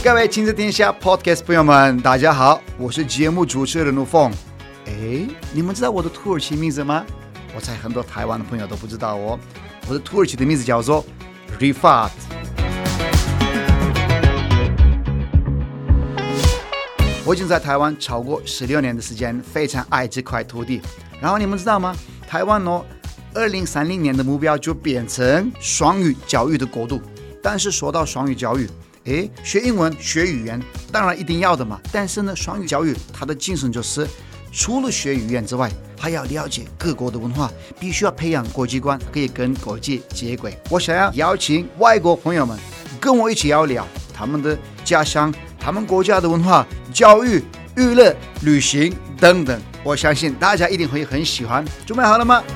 各位親子天下 Podcast 朋友們，大家好，我是節目主持人陸鳳。你們知道我的土耳其名字嗎？我猜很多台灣的朋友都不知道哦。我的土耳其的名字叫做 Rifat。我已經在台灣超過16年的時間，非常愛這塊土地。然後你們知道嗎？台灣2030年的目標就變成雙語教育的國度。但是說到雙語教育，學英文學語言當然一定要的嘛。但是呢，雙語教育它的精神就是除了學語言之外，還要了解各國的文化，必須要培養國際觀，可以跟國際接軌。我想要邀請外國朋友們跟我一起聊聊他們的家鄉、他們國家的文化、教育、娛樂、旅行等等。我相信大家一定會很喜歡。準備好了嗎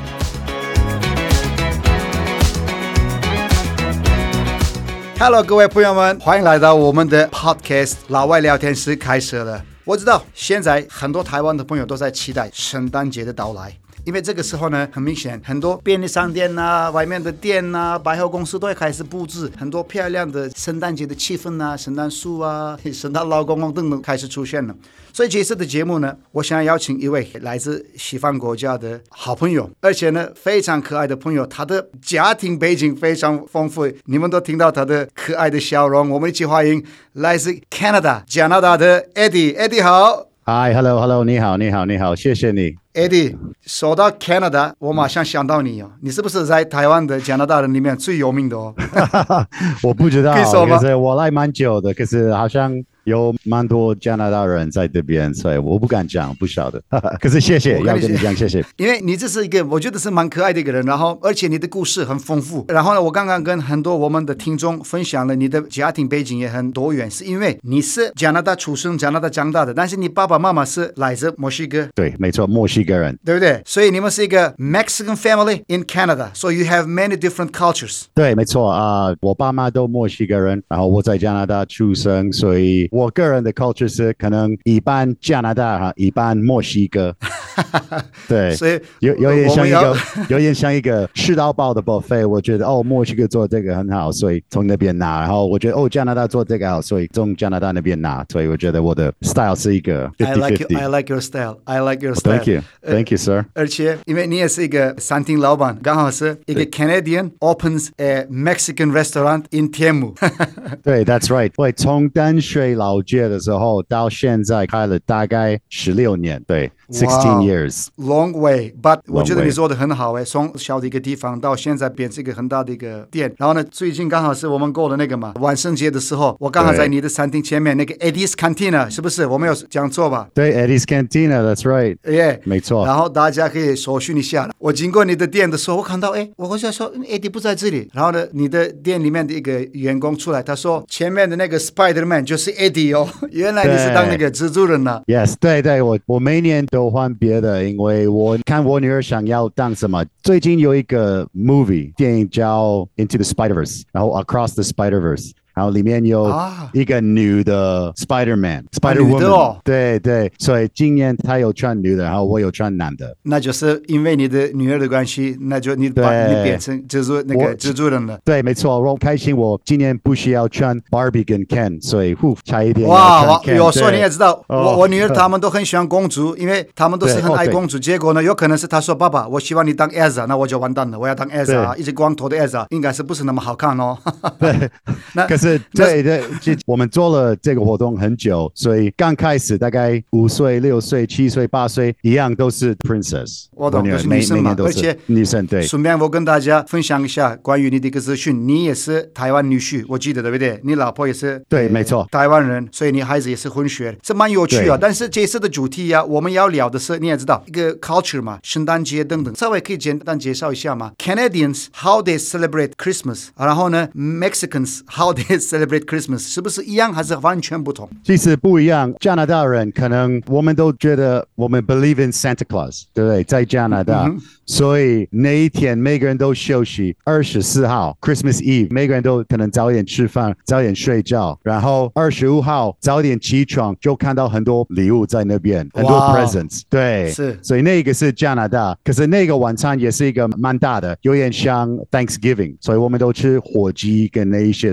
？Hello， 各位朋友們，歡迎來到我們的 Podcast 老外聊天室開始了。我知道現在很多台灣的朋友都在期待聖誕節的到來，因為這個時候呢，很明顯很多便利商店啊、外面的店啊、百貨公司都會開始布置很多漂亮的聖誕節的氣氛啊，聖誕樹啊、聖誕老公公等等開始出現了。所以這次的節目呢，我想要邀請一位來自西方國家的好朋友，而且呢非常可愛的朋友，他的家庭背景非常豐富，你們都聽到他的可愛的笑容。我們一起歡迎來自 Canada 加拿大的 Eddie。Eddie 好。 Hi, hello, 你好，謝謝你。 Eddie， 說到 Canada， 我馬上想到你哦，你是不是在台灣的加拿大人裡面最有名的哦？ 我不知道， 可以說嗎？ 可是我來蠻久的，可是好像有蠻多加拿大人在這邊，所以我不敢講，不曉得。可是謝謝，要跟你講謝謝。 因為你這是一個我覺得是蠻可愛的一個人，然後而且你的故事很豐富。然後呢，我剛剛跟很多我們的聽眾分享了你的家庭背景也很多元，是因為你是加拿大出生、加拿大長大的，但是你爸爸媽媽是來自墨西哥。 對，沒錯，墨西哥人， 對不對？所以你們是一個 Mexican family in Canada, so you have many different cultures. 對，沒錯我爸媽都墨西哥人，然後我在加拿大出生，所以我個人的 culture 是可能一半加拿大一半墨西哥。對，所以有點像一個吃到飽的 buffet。我覺得墨西哥做這個很好，所以從那邊拿，然後我覺得加拿大做這個好，所以從加拿大那邊拿，所以我覺得我的 style 是一個 50-50。 I like your style. I like your style. Thank you, sir. 而且因為你也是一個餐廳老闆，剛好是一個 Canadian opens a Mexican restaurant in Temu。 對 ，That's right。我從淡水老街的時候到現在開了大概16年，對，16 years。 Long way, but 我覺得你做的很好從小的一個地方到現在變成一個很大的一個店。然後呢，最近剛好是我們過了那個嘛萬聖節的時候，我剛好在你的餐廳前面那個 Eddie's Cantina， 是不是？我沒有講錯吧？ 對 ，Eddie's Cantina，That's right。沒錯。 然後大家可以搜尋一下。我經過你的店的時候，我看到我想說 Eddie 不在這裡。然後呢，你的店裡面的一個員工出來，他說前面的那個 Spider-Man 就是 Eddie 哦，原來你是當那個蜘蛛人呢 ？Yes， 對，我每年都換別的，因為我看我女兒想要當什麼。最近有一個 movie 電影叫 Into the Spider-Verse， 然後 Across the Spider-Verse。然後裡面有一個女的 Spider-Man、Spider-Woman，對，所以今年她有穿女的，然後我有穿男的。 那就是因為你的女兒的關係，那就你把你變成蜘蛛人了。 對，沒錯，我開心，我今年不需要穿 Barbie 跟 Ken， 所以差一點要穿 Ken。 有時候你也知道，我女兒他們都很喜歡公主，因為他們都是很愛公主。結果呢，有可能是她說爸爸，我希望你當 Elsa， 那我就完蛋了，我要當 Elsa， 一直光頭的 Elsa， 應該是不是那麼好看哦？ 對，對，我們做了這個活動很久，所以剛開始大概5歲、6歲、7歲、8歲一樣都是 princess。 我懂，都是女生嘛，而且女生對。 順便我跟大家分享一下關於你的一個資訊，你也是台灣女婿，我記得對不對？你老婆也是對，沒錯， 台灣人，所以你孩子也是混血，這蠻有趣啊。但是這次的主題我們要聊的是你也知道一個 culture 嘛，聖誕節等等，稍微可以簡單介紹一下嗎 ？Canadians how they celebrate Christmas， 然後呢 Mexicans how they celebrate Christmas， 是不是一樣還是完全不同？ 其實不一樣。加拿大人可能我們都覺得我們 believe in Santa Claus， 对不對？在加拿大，所以那一天每個人都休息。24號 Christmas Eve， 每個人都可能早點吃飯，早點睡覺，然後25號早點起床，就看到很多禮物在那邊，很多 presents。對， 是。所以那個是加拿大，可是那個晚餐也是一個蠻大的，有點像 Thanksgiving， 所以我們都吃火雞跟那一些的東西。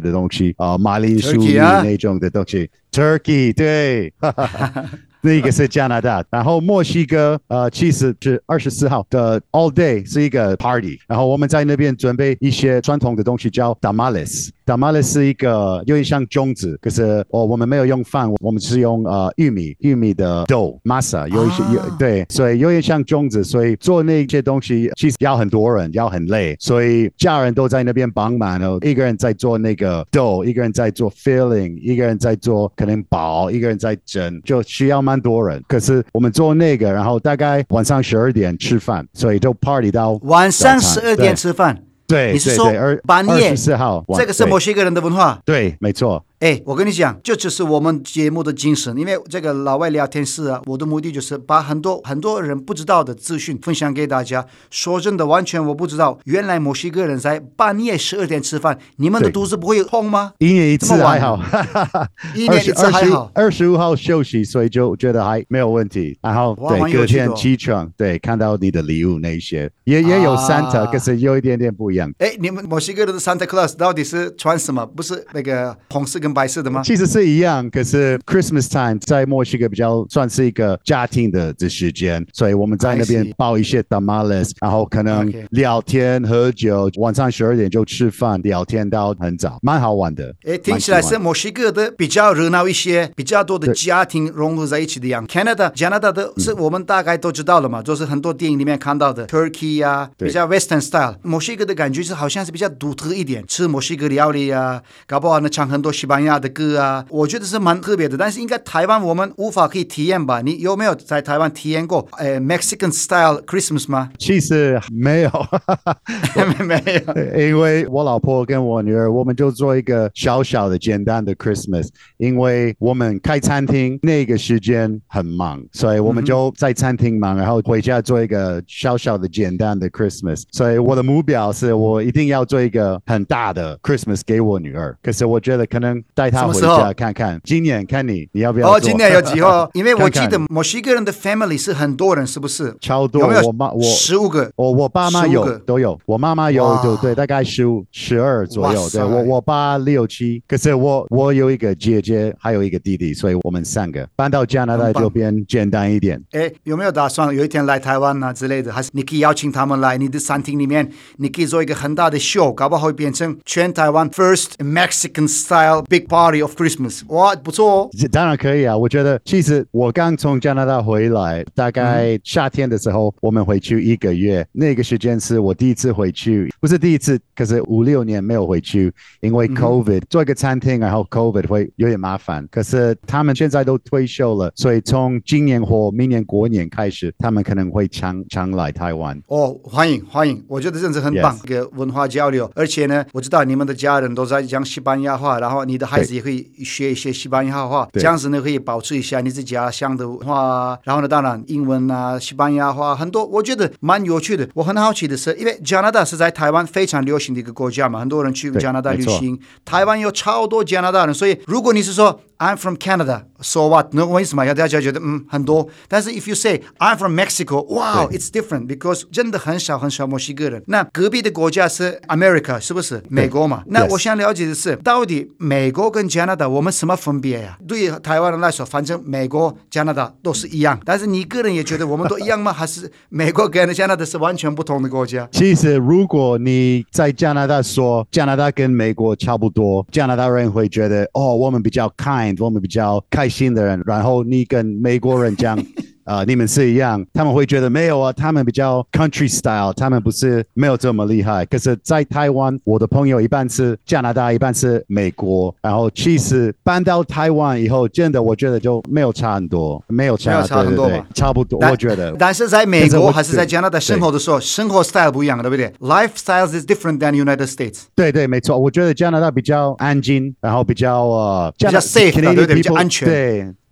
西，馬鈴薯泥那種的東西 ，Turkey 對。那個是加拿大，然後墨西哥其實是24號的 All Day 是一個 party， 然後我們在那邊準備一些傳統的東西叫 tamales。tamales 是一個有點像粽子，可是我們沒有用飯，我們是用玉米的 dough masa， 有一些對，所以有點像粽子，所以做那些東西其實要很多人，要很累，所以家人都在那邊幫忙，然後一個人在做那個 dough， 一個人在做 filling， 一個人在做可能包，一個人在蒸，就需要蠻多人。可是我們做那個，然後大概晚上12點吃飯，所以就 party 到晚上12點吃飯。 對， 你是說半夜 24號？ 這個是墨西哥人的文化。 對，沒錯。 我跟你講，這就是我們節目的精神。因為這個老外聊天室啊，我的目的就是把很多人不知道的資訊分享給大家。說真的，完全我不知道，原來墨西哥人在半夜12點吃飯，你們的肚子不會痛嗎？ 一年一次還好， 一年一次還好。 25號休息，所以就覺得還沒有問題。然後對，隔天起床，對，看到你的禮物那一些，也有 Santa，可是有一點點不一樣。 你們墨西哥人的 Santa Claus 到底是穿什麼？不是那個紅色跟白色的嗎？ 其實是一樣，可是 Christmas time 在墨西哥比較算是一個家庭的時間，所以我們在那邊包一些 tamales， 然後可能聊天喝酒，晚上12點就吃飯，聊天到很早，蠻好玩的。 聽起來是墨西哥的比較熱鬧一些，比較多的家庭融合在一起的樣。加拿大的是我們大概都知道了嘛，就是很多電影裡面看到的 Turkey 啊，比較 Western style。墨西哥的感覺是好像是比較獨特一點，吃墨西哥料理啊，搞不好呢唱很多西班牙的歌啊，我覺得是蠻特別的。但是應該台灣我們無法可以體驗吧？你有沒有在台灣體驗過Mexican style Christmas 嗎？ 其實沒有沒有， 因為我老婆跟我女兒，我們就做一個小小的簡單的 Christmas， 因為我們開餐廳那個時間很忙，所以我們就在餐廳忙，然後回家做一個小小的簡單的 Christmas。所以我的目標是我一定要做一個很大的 Christmas 給我女兒，可是我覺得可能帶她回家看看。今年看你要不要做？ 今年有機會，因為我記得墨西哥人的 family 是很多人，是不是？ 超多， 有沒有 15 個？ 我爸媽都有，我媽媽有，對，大概12左右。對，我爸6、7，可是我有一個姐姐，還有一個弟弟，所以我們3個搬到加拿大就變簡單一點。 有沒有打算有一天來台灣啊之類的？還是你可以邀請他們來你的餐廳裡面，你可以做一個很大的秀，搞不好會變成全台灣 first Mexican style big party of Christmas。哇，不錯哦！ 當然可以啊，我覺得其實我剛從加拿大回來，大概夏天的時候，我們回去1個月，那個時間是我第一次回去，不是第一次，可是5、6年沒有回去，因為 COVID，做一個餐廳，然後 COVID 會有點麻煩。可是他們現在都退休了，所以從今年或明年過年開始，他們可能會常來台灣。 歡迎！我覺得真是很棒，一個文化交流。而且呢，我知道你們的家人都在講西班牙話，然後你的孩子也可以學一些西班牙話，這樣子呢可以保持一下你自己家鄉的文化。然後呢，當然英文啊、西班牙話很多，我覺得蠻有趣的。我很好奇的是，因為加拿大是在台灣非常流行的一個國家嘛，很多人去加拿大旅行，台灣有超多加拿大人，所以如果你是說 I'm from Canada, so what？ 那為什麼大家覺得很多？但是 if you say I'm from Mexico, wow, it's different because 真的很少墨西哥人。那隔壁的國家是 America， 是不是美國嘛？那我想了解的是，到底美國跟加拿大我們什麼分別呀？對於台灣人來說，反正美國、加拿大都是一樣。但是你個人也覺得我們都一樣嗎？還是美國跟加拿大是完全不同的國家？ 其實如果你在加拿大說加拿大跟美國差不多，加拿大人會覺得我們比較 kind， 我們比較開心的人。然後你跟美國人講你們是一樣，他們會覺得沒有啊，他們比較 country style， 他們不是沒有這麼厲害。可是在台灣，我的朋友一半是加拿大，一半是美国，然後其實搬到台灣以後，真的我覺得就沒有差很多，沒有差很多吧，差不多我覺得。 但是在美國還是在加拿大生活的時候，生活 style 不一樣，對不對？ Lifestyle is different than United States。 對，沒錯，我覺得加拿大比較安靜，然後比較 safe，對不對？比較安全。 對。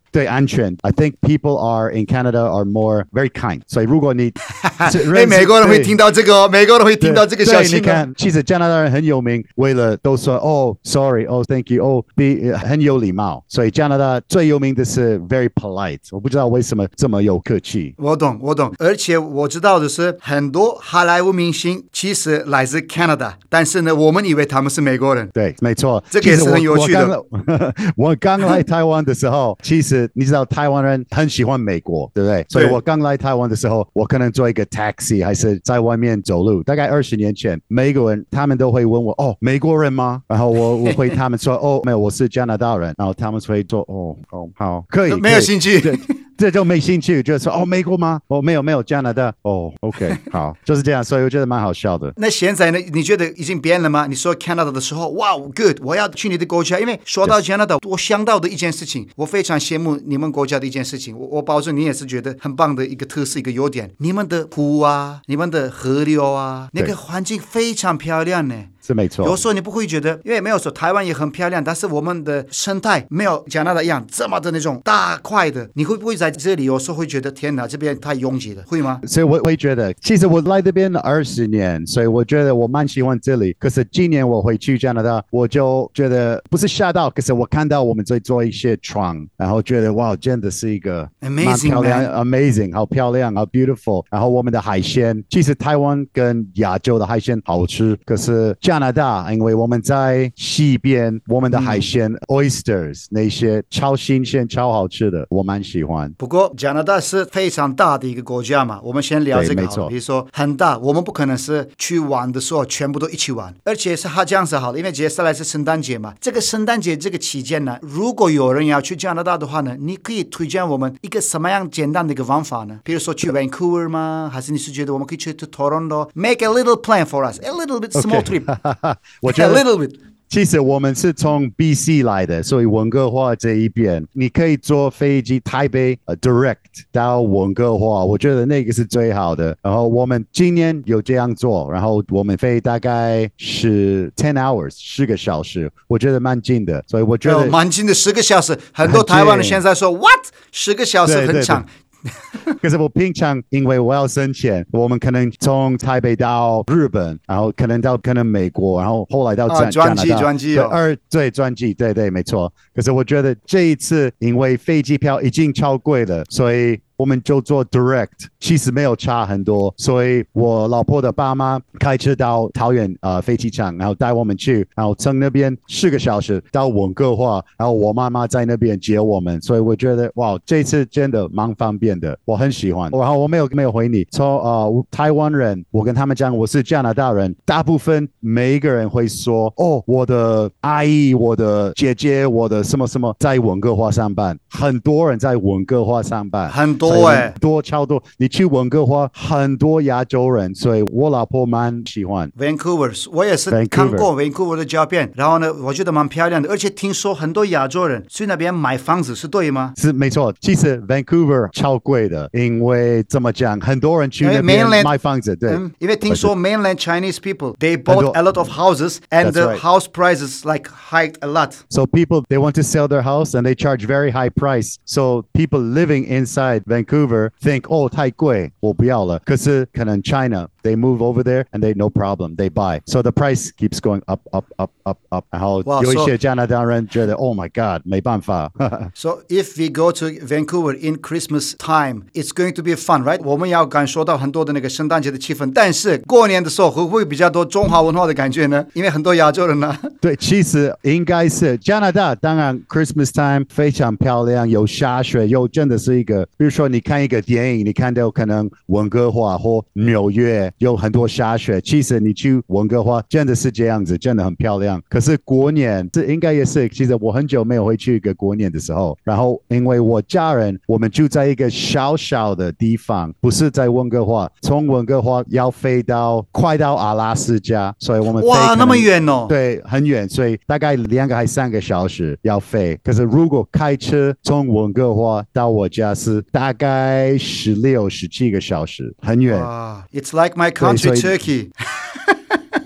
對，安全。I think people are in Canada are more very kind。所以如果你美國人會聽到這個美國人會聽到這個消息。 你看，其實加拿大人很有名，為了都說哦 ，sorry， 哦 ，thank you， 哦，很有禮貌。所以加拿大最有名的是 very polite。我不知道為什麼這麼有客氣。 我懂。而且我知道的是，很多好萊塢明星其實來自 Canada， 但是呢，我們以為他們是美國人。 對，沒錯， 這個也是很有趣的。 我剛來台灣的時候，其實你知道台灣人很喜歡美國，對不對？所以我剛來台灣的時候，我可能坐一個 taxi， 還是在外面走路。大概20年前，美國人他們都會問我：“哦，美國人嗎？”然後我會他們說：“哦，沒有，我是加拿大人。”然後他們會說：“哦，好，可以。” 沒有興趣。 這就沒興趣，就是說哦，美國嗎？哦，沒有加拿大。哦 ，OK， 好，就是這樣，所以我覺得蠻好笑的。 那現在呢？你覺得已經變了嗎？你說 Canada 的時候，哇 ，good， 我要去你的國家，因為說到 Canada， 我想到的一件事情，我非常羨慕你們國家的一件事情，我保證你也是覺得很棒的一個特色，一個優點。你們的湖啊，你們的河流啊，那個環境非常漂亮呢。 是沒錯， 有時候你不會覺得，因為沒有說台灣也很漂亮，但是我們的生態沒有加拿大一樣這麼的那種大塊的。你會不會在這裡有時候會覺得天哪，這邊太擁擠了，會嗎？ 所以我會覺得，其實我來這邊20年，所以我覺得我蠻喜歡這裡。可是今年我回去加拿大，我就覺得不是嚇到，可是我看到我們在做一些床，然後覺得哇，真的是一個蠻漂亮 ，amazing， 好漂亮，好 beautiful。然後我們的海鮮，其實台灣跟亞洲的海鮮好吃，可是加拿大，因為我們在西邊，我們的海鮮、oysters 那些超新鮮、超好吃的，我蠻喜歡。 不過加拿大是非常大的一個國家嘛，我們先聊這個好了。比如說很大，我們不可能是去玩的時候全部都一起玩，而且是這樣子好了，因為接下來是聖誕節嘛。這個聖誕節這個期間呢，如果有人要去加拿大的話呢，你可以推薦我們一個什麼樣簡單的一個方法呢？比如說去 Vancouver 嗎？還是你是覺得我們可以去 Toronto？Make a little plan for us, a little bit small trip. 我覺得其實我們是從 BC 來的，所以溫哥華這一邊，你可以坐飛機台北direct 到溫哥華，我覺得那個是最好的。然後我們今年有這樣做，然後我們飛大概是10 hours 10個小時，我覺得蠻近的，所以我覺得蠻近的10個小時。很多台灣人現在說 What 10個小時很長。 可是我平常因為我要省錢，我們可能從台北到日本，然後可能到美國，然後後來到加拿大。轉機對，轉機，對，沒錯。可是我覺得這一次因為飛機票已經超貴了，所以我們就做 direct， 其實沒有差很多，所以我老婆的爸媽開車到桃園飛機場，然後帶我們去，然後從那邊10個小時到溫哥華，然後我媽媽在那邊接我們，所以我覺得哇，這次真的蠻方便的，我很喜歡。然後我沒有回你，從台灣人，我跟他們講我是加拿大人，大部分每一個人會說哦，我的阿姨、我的姐姐、我的什麼什麼在溫哥華上班，很多人在溫哥華上班， 很多。 超多！你去溫哥華很多亞洲人，所以我老婆蠻喜歡 Vancouver。我也是看過 Vancouver 的照片，然後呢，我覺得蠻漂亮的，而且聽說很多亞洲人去那邊買房子，是對嗎？ 是沒錯，其實 Vancouver 超貴的，因為怎麼講，很多人去那邊買房子，對， 因為聽說 mainland Chinese people they bought a lot of houses and the house prices like hiked a lot. So people they want to sell their house and they charge very high price. So people living inside Vancouver think, oh, 太貴，我不要了。可是可能 China, they move over there and they no problem, they buy. So the price keeps going up. 然後有一些加拿大人覺得 oh my God, 沒辦法。 So if we go to Vancouver in Christmas time, it's going to be fun, right? 我們要感受到很多的那個聖誕節的氣氛，但是過年的時候會不會比較多中華文化的感覺呢？因為很多亞洲人呢。 對，其實應該是加拿大，當然 Christmas time 非常漂亮，有下雪，又真的是一個，比如說你看一個電影，你看到可能溫哥華或紐約有很多下雪，其實你去溫哥華真的是這樣子，真的很漂亮。可是過年這應該也是，其實我很久沒有回去一個過年的時候，然後因為我家人我們住在一個小小的地方，不是在溫哥華，從溫哥華要飛到快到阿拉斯加，所以我們哇那麼遠哦， 對，很遠，所以大概2個還3個小時要飛。可是如果開車從溫哥華到我家是大概16、17個小時，很遠。 It's like my country Turkey.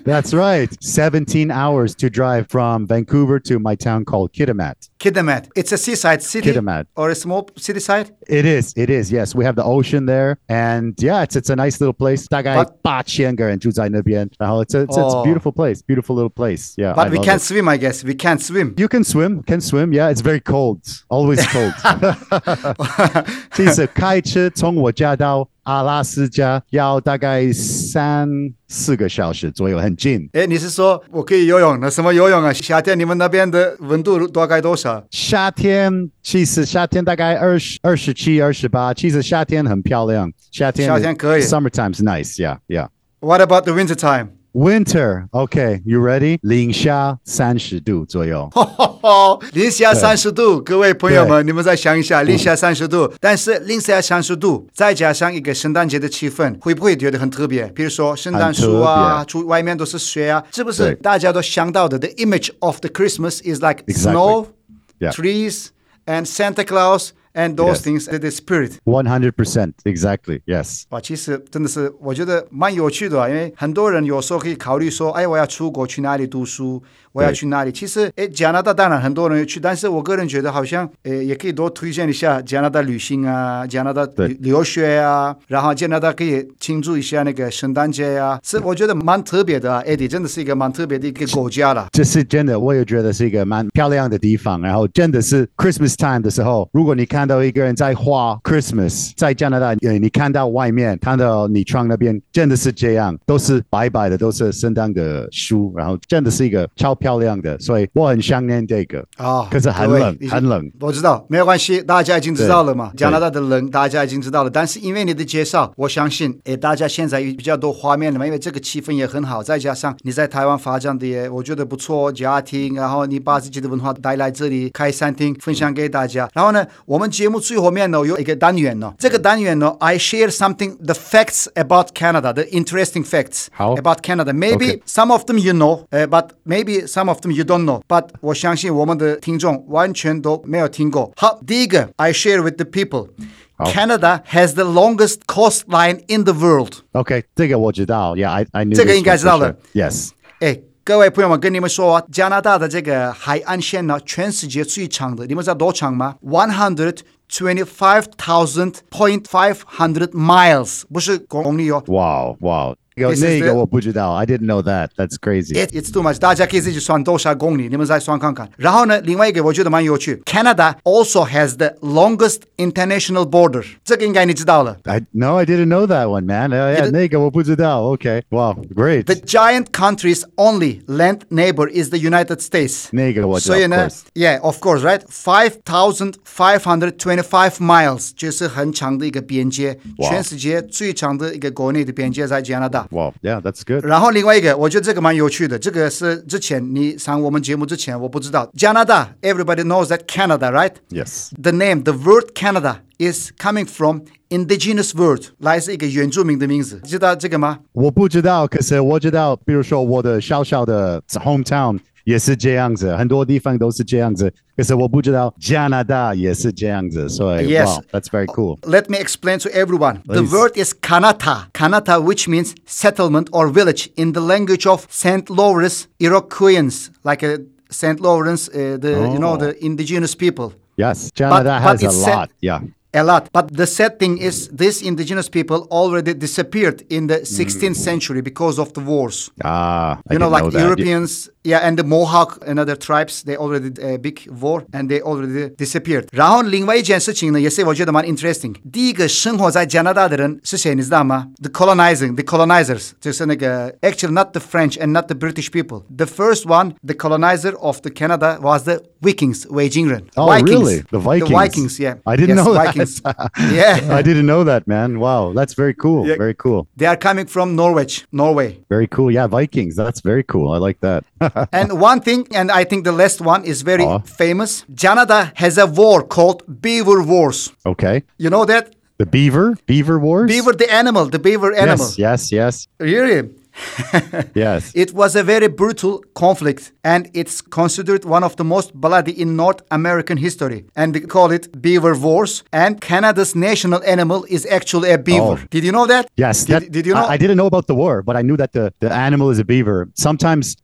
That's right. 17 hours to drive from Vancouver to my town called Kitimat. Kitimat. It's a seaside city Kitimat. or a small city side? It is. Yes, we have the ocean there. And yeah, it's a nice little place. 大概8000个人住在那边。然后 it's a beautiful place. Beautiful little place. Yeah. But we can't swim, I guess. We can't swim. You can swim. Yeah, it's very cold. Always cold. 其實開車從我家到阿拉斯加要大概3-4個小時左右，很近。 你是說我可以游泳？那什麼游泳啊？夏天你們那邊的溫度大概多少？ 夏天大概27、28。其實夏天很漂亮，夏天可以。Summertime is nice, yeah. What about the winter time? Winter, okay, you ready? 零下30度左右。 零下30度，各位朋友們，你們再想一下，零下30度，但是零下30度，再加上一個聖誕節的氣氛，會不會覺得很特別？比如說聖誕樹啊，外面都是雪啊，是不是大家都想到的 ？The image of the Christmas is like snow, trees, and Santa Claus.And those things, the spirit. 100%, exactly, yes. 哇，其實真的是我覺得蠻有趣的啊，因為很多人有時候可以考慮說，哎，我要出國去哪裡讀書，我要去哪裡？其實，加拿大當然很多人有去，但是我個人覺得好像，也可以多推薦一下加拿大旅行啊，加拿大留學啊，然後加拿大可以慶祝一下那個聖誕節啊，是我覺得蠻特別的啊。Eddie 真的是一個蠻特別的一個國家啦。 這是真的，我也覺得是一個蠻漂亮的地方。然後真的是 Christmas time 的時候，如果你看到一個人在畫 Christmas， 在加拿大，你看到外面，看到你窗那邊，真的是這樣，都是白白的，都是聖誕的樹，然後真的是一個超漂亮的，所以我很想念這個。可是很冷，很冷。 我知道，沒有關係，大家已經知道了嘛。加拿大的冷，大家已經知道了。但是因為你的介紹，我相信，大家現在有比較多畫面了嘛，因為這個氣氛也很好，再加上你在台灣發展的也，我覺得不錯，家庭，然後你把自己的文化帶來這裡，開餐廳分享給大家。然後呢，我們節目最後面呢有一個單元呢，這個單元呢 I share something, the facts about Canada, the interesting facts about Canada. Maybe some of them you know, but maybe some of them you don't know. But 我相信我們的聽眾完全都沒有聽過。好，第一個 I share with the people. Canada has the longest coastline in the world. Okay, 這個我知道。Yeah, I knew. 這個應該知道了。 Yes. 各位朋友們，跟你們說啊，加拿大的這個海岸線呢，全世界最長的，你們知道多長嗎？125,500 miles， 不是公里哦。 Wow. 那個我不知道 I didn't know that. That's crazy. It's too much. 大家可以自己算多少公里，你們再算看看。然後呢，另外一個我覺得蠻有趣 ，Canada also has the longest international border. 這個應該你知道了。 No, I didn't know that one, man. 那個我不知道。Okay, wow, great. The giant country's only land neighbor is the United States. 那個我知道。 所以呢 ，Yeah, of course, right? 5,525 miles 就是很長的一個邊界，全世界最長的一個國內的邊界在加拿大。 Wow, yeah, that's good. 然後另外一個，我覺得這個蠻有趣的。這個是之前你上我們節目之前，我不知道。加拿大 ，everybody knows that Canada, right? Yes. The name, the word Canada is coming from indigenous word， 來自一個原住民的名字。知道這個嗎？ 我不知道，可是我知道，比如說我的小小的 hometown 也是這樣子，很多地方都是這樣子。可是我不知道加拿大也是這樣子，所以 Yes. Wow, that's very cool. Let me explain to everyone. Please. The word is Kanata, which means settlement or village in the language of St. Lawrence Iroquoians, like St. Lawrence, the indigenous people. Yes, Canada has a lot, A lot. But the sad thing is these indigenous people already disappeared in the 16th century because of the wars. I like know that. Europeans, and the Mohawk and other tribes, they already big war and they already disappeared. 然後另外一件事情呢，也是我覺得蠻 interesting。第一個生活在加拿大的人是誰，你知道嗎？ The colonizers， 就是那個 actually not the French and not the British people. The first one, the colonizer of the Canada was the Vikings, 維京人。 Oh, Vikings. Really? The Vikings, yeah. I didn't know Vikings. that. Yeah. I didn't know that, man. Wow, that's very cool. Yeah. Very cool. They are coming from Norway. Very cool. Yeah, Vikings. That's very cool. I like that. And one thing, and I think the last one is very famous. Canada has a war called Beaver Wars. Okay. You know that? The Beaver Wars? Beaver, the animal, the beaver animal. Yes. Really? Yes. It was a very brutal conflict, and it's considered one of the most bloody in North American history. And we call it Beaver Wars. And Canada's national animal is actually a beaver. Oh. Did you know that? Yes. Did you know? I didn't know about the war, but I knew that the animal is a beaver. Sometimes,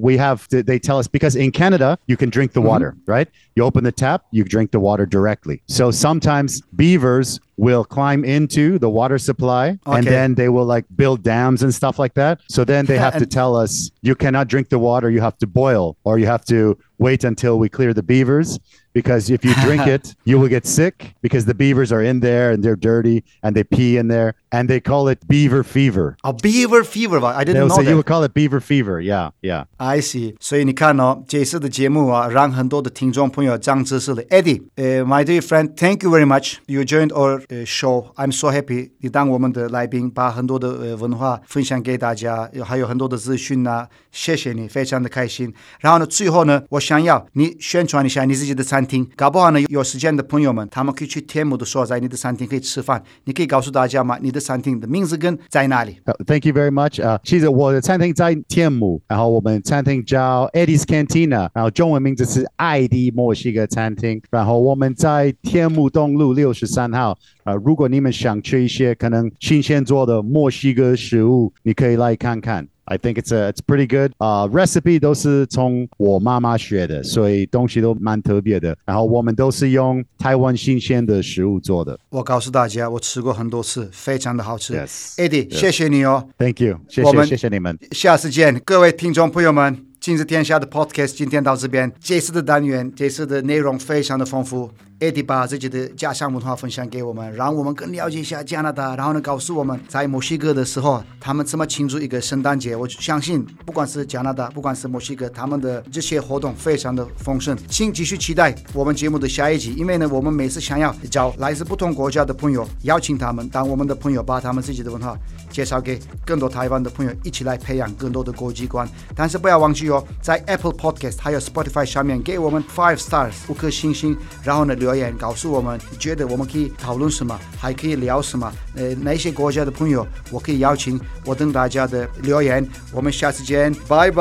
they tell us, because in Canada, you can drink the water, right? You open the tap, you drink the water directly. So sometimes beavers will climb into the water supply, and then they will like build dams and stuff like that. So then they have to tell us, you cannot drink the water, you have to boil, or you have to wait until we clear the beavers, because if you drink it, you will get sick, because the beavers are in there and they're dirty and they pee in there, and they call it beaver fever. Beaver fever, I didn't know that. You would call it beaver fever, yeah. I see. 所以你看这次的节目让很多的听众朋友长知識了。Eddie, my dear friend, thank you very much. You joined our show. I'm so happy. 你当我们的来宾，把很多的文化分享給大家，還有很多的資訊謝謝你，非常的開心。然後呢，最後呢，我想要你宣傳一下你自己的餐廳，搞不好呢，有時間的朋友們，他們可以去天母的所在，你的餐廳可以吃飯，你可以告訴大家嗎？你的餐廳的名字跟在哪裡 ？Thank you very much. 其實我的餐廳在天母，然後我們餐廳叫 Eddie's Cantina， 然後中文名字是愛的墨西哥餐廳，然後我們在天母東路63號。如果你們想吃一些可能新鮮做的墨西哥食物，你可以來看看。I think it's pretty good. Recipe 都是從我媽媽學的，所以東西都蠻特別的。然後我們都是用台灣新鮮的食物做的。 我告訴大家，我吃過很多次，非常的好吃。 Yes. Eddie， 謝謝你哦。 Thank you， 謝謝你們。 下次見，各位聽眾朋友們。今日天下的 podcast 今天到這邊，這次的單元，這次的內容非常的豐富。Eddie 把自己的家鄉文化分享給我們，讓我們更了解一下加拿大，然後呢，告訴我們在墨西哥的時候，他們怎麼慶祝一個聖誕節。我相信，不管是加拿大，不管是墨西哥，他們的這些活動非常的豐盛。請繼續期待我們節目的下一集，因為呢，我們每次想要找來自不同國家的朋友，邀請他們當我們的朋友，把他們自己的文化介紹給更多台灣的朋友，一起來培養更多的國際觀。但是不要忘記哦，在 Apple Podcast 還有 Spotify 上面給我們5 stars 5顆星星，然後呢留言告訴我們覺得我們可以討論什麼，還可以聊什麼，哪些國家的朋友我可以邀請，我等大家的留言。我們下次見，拜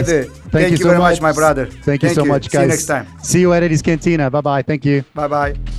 拜。Thank you very much, my brother. Thank you so much, guys. See you next time. See you at Eddie's Cantina. Bye bye. Thank you. Bye bye.